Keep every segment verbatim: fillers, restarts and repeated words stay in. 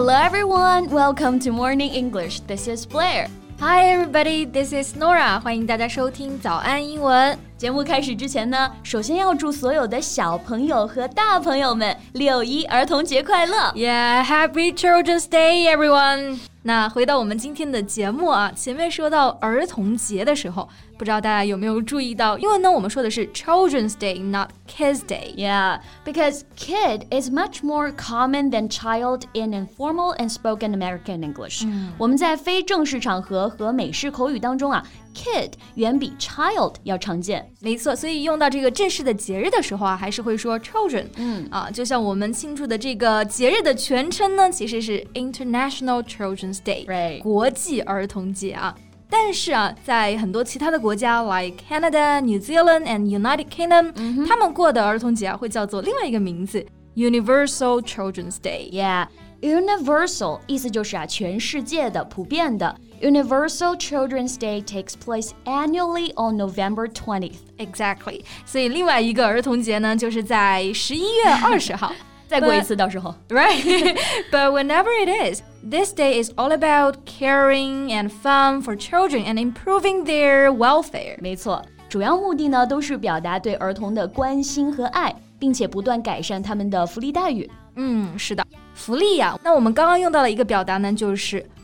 Hello everyone, welcome to Morning English. This is Blair. Hi everybody, this is Nora. 欢迎大家收听早安英文。 节目开始之前呢，首先要祝所有的小朋友和大朋友们六一儿童节快乐 Yeah, happy Children's Day everyone. 那回到我们今天的节目啊，前面说到儿童节的时候，不知道大家有没有注意到，因为呢我们说的是 Children's Day, not Kids Day. Yeah, because kid is much more common than child in informal and spoken American English. 嗯、 我们在非正式场合和美式口语当中啊，kid 远比 child 要常见。 没错，所以用到这个正式的节日的时候啊，还是会说 children。 嗯啊，就像我们庆祝的这个节日的全称呢，其实是 International Children's Day，、right. 国际儿童节啊。但是啊，在很多其他的国家 like Canada, New Zealand and United Kingdom，、嗯、他们过的儿童节啊会叫做另外一个名字 Universal Children's Day。Yeah, Universal 意思就是啊全世界的、普遍的。Universal Children's Day takes place annually on November twentieth. Exactly. 所以另外一个儿童节呢，就是在十一月二十号。 再过一次到时候 Right. But whenever it is, this day is all about caring and fun for children and improving their welfare. 没错，主要目的呢都是表达对儿童的关心和爱，并且不断改善他们的福利待遇。 嗯，是的，福利呀。那我们刚刚用到了一个表达呢，就是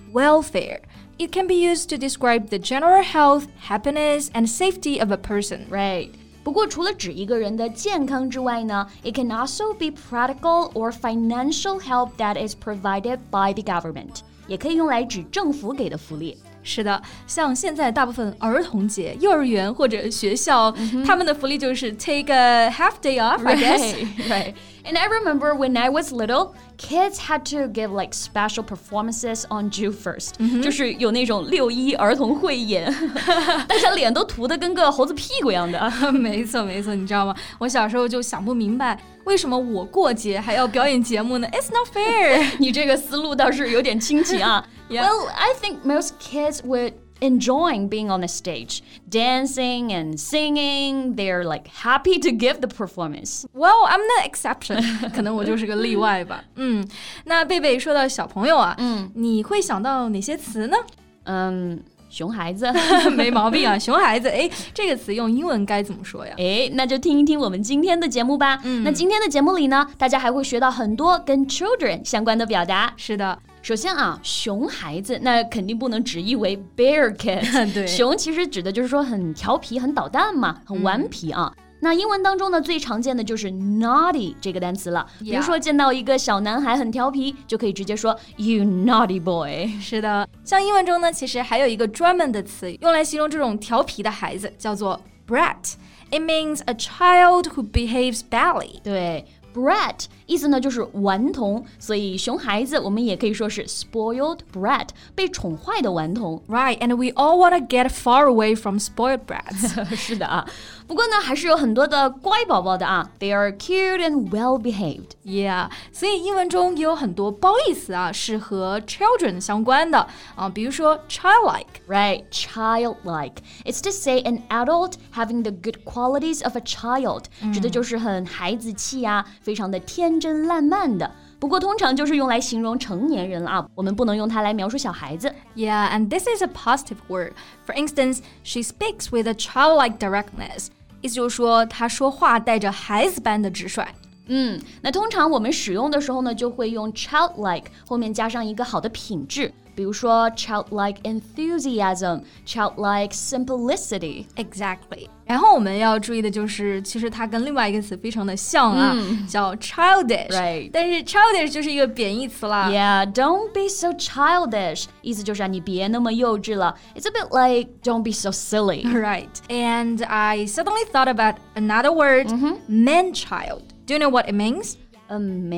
welfare.It can be used to describe the general health, happiness, and safety of a person. Right. 不过除了指一个人的健康之外呢 it can also be practical or financial help that is provided by the government. 也可以用来指政府给的福利。 是的，像现在大部分儿童节，幼儿园或者学校，嗯、他们的福利就是 take a half day off, I guess. Right, right. And I remember when I was little, kids had to give like special performances on June first. 就是有那种六一儿童汇演，大家脸都涂得跟个猴子屁股一样的。 没错没错，你知道吗？我小时候就想不明白，为什么我过节还要表演节目呢？ It's not fair. 你这个思路倒是有点清奇啊。 Yeah. Well, I think most kids would enjoying being on the stage, dancing and singing. They're like happy to give the performance. Well, I'm the exception. 可能我就是个例外吧。嗯，那贝贝说到小朋友啊，嗯，你会想到哪些词呢？ 嗯。熊孩子没毛病啊，熊孩子，哎，这个词用英文该怎么说呀？ 哎，那就听一听我们今天的节目吧。嗯，那今天的节目里呢，大家还会学到很多跟 children 相关的表达。 是的， 首先啊，熊孩子那肯定不能直译为 bear kid 对， 熊其实指的就是说很调皮、很捣蛋嘛，很顽皮啊。嗯，那英文当中呢，最常见的就是 naughty 这个单词了。比如说见到一个小男孩很调皮，就可以直接说 you naughty boy。 是的，像英文中呢，其实还有一个专门的词用来形容这种调皮的孩子，叫做 brat。It means a child who behaves badly. 对。Brat 意思呢就是顽童，所以熊孩子我们也可以说是 spoiled brat， 被宠坏的顽童。 Right, and we all want to get far away from spoiled brats. 是的啊，不过呢还是有很多的乖宝宝的啊 ，They are cute and well behaved. Yeah, 所以英文中也有很多褒义词啊，是和 children 相关的啊，比如说 childlike. Right, childlike. It's to say an adult having the good qualities of a child，、嗯、指的就是很孩子气啊。非常的天真烂漫的，不过通常就是用来形容成年人了啊，我们不能用它来描述小孩子。 Yeah, and this is a positive word. For instance, she speaks with a childlike directness. 意思就是说，她说话带着孩子般的直率。 嗯，那通常我们使用的时候呢，就会用 childlike 后面加上一个好的品质。比如说 childlike enthusiasm, childlike simplicity. Exactly. 然后我们要注意的就是，其实它跟另外一个词非常的像啊，嗯、叫 childish. Right. 但是 childish 就是一个贬义词啦。 Yeah, don't be so childish. 意思就是啊，你别那么幼稚了。It's a bit like don't be so silly. Right. And I suddenly thought about another word, mm-hmm. man-child. Do you know what it means?A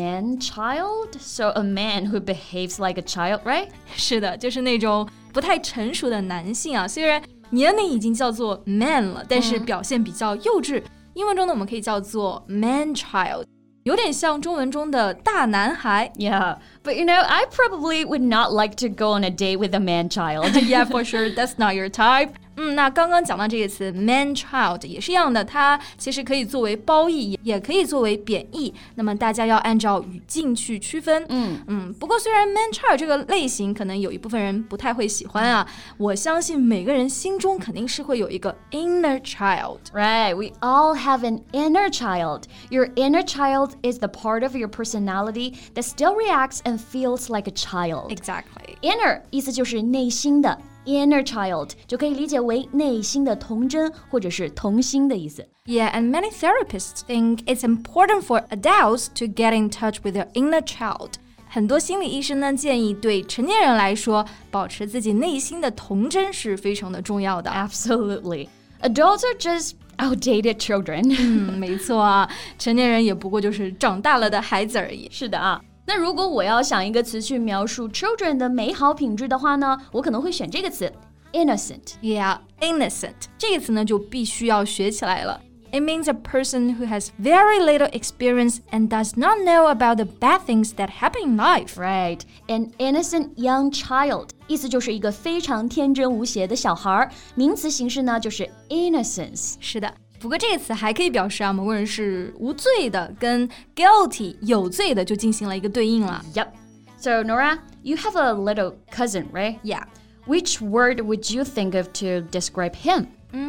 man-child? So a man who behaves like a child, right? 是的，就是那种不太成熟的男性啊，虽然年龄已经叫做 man 了，但是表现比较幼稚。嗯、英文中呢，我们可以叫做 man-child， 有点像中文中的大男孩。 Yeah, but you know, I probably would not like to go on a date with a man-child. Yeah, for sure, that's not your type. 嗯，那刚刚讲到这个词 man-child 也是一样的，它其实可以作为褒义，也可以作为贬义。那么大家要按照语境去区分。 嗯嗯，不过虽然 man-child 这个类型可能有一部分人不太会喜欢啊，我相信每个人心中肯定是会有一个 inner child. Right, we all have an inner child. Your inner child is the part of your personality that still reacts and feels like a child. Exactly. Inner 意思就是内心的。Inner child 就可以理解为内心的童真或者是童心的意思。 Yeah, and many therapists think it's important for adults to get in touch with their inner child. 很多心理医生呢建议对成年人来说，保持自己内心的童真是非常的重要的。 Absolutely. Adults are just outdated children. 嗯，没错啊，成年人也不过就是长大了的孩子而已。 是的啊。那如果我要想一个词去描述 children 的美好品质的话呢，我可能会选这个词 innocent. Yeah, innocent. 这个词呢就必须要学起来了。It means a person who has very little experience and does not know about the bad things that happen in life. Right, an innocent young child. 意思就是一个非常天真无邪的小孩，名词形式呢就是 innocence. 是的。不过这个词还可以表示啊，某个人是无罪的，跟 guilty 有罪的就进行了一个对应了。 Yep. So Nora, you have a little cousin, right? Yeah. Which word would you think of to describe him?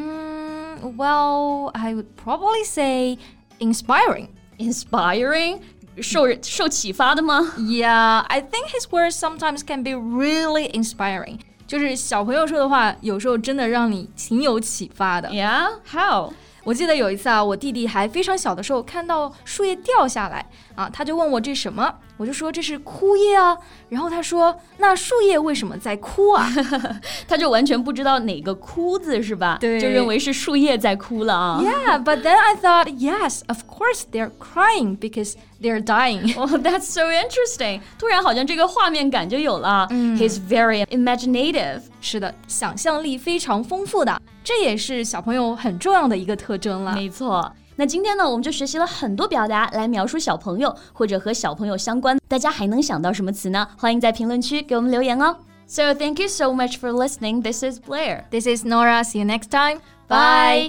Mm, well, I would probably say inspiring. Inspiring? 受受启发的吗？ Yeah, I think his words sometimes can be really inspiring. 就是小朋友说的话，有时候真的让你挺有启发的。 Yeah? How? 我记得有一次啊，我弟弟还非常小的时候看到树叶掉下来啊，他就问我这是什么，我就说这是枯叶啊，然后他说那树叶为什么在哭啊？ 他就完全不知道哪个枯字是吧？ 对， 就认为是树叶在哭了啊。 Yeah, but then I thought, yes, of course they're crying because they're dying. Oh, that's so interesting. 突然好像这个画面感就有了。嗯、He's very imaginative. 是的，想象力非常丰富的，这也是小朋友很重要的一个特征了。 没错。那今天呢，我们就学习了很多表达来描述小朋友或者和小朋友相关，大家还能想到什么词呢？欢迎在评论区给我们留言哦。So thank you so much for listening. This is Blair. This is Nora. See you next time. Bye.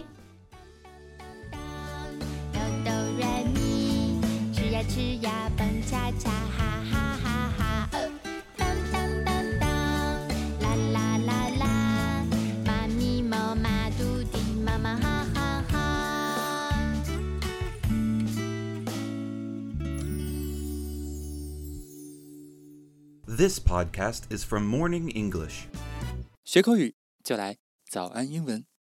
，This podcast is from Morning English. 学口语就来早安英文。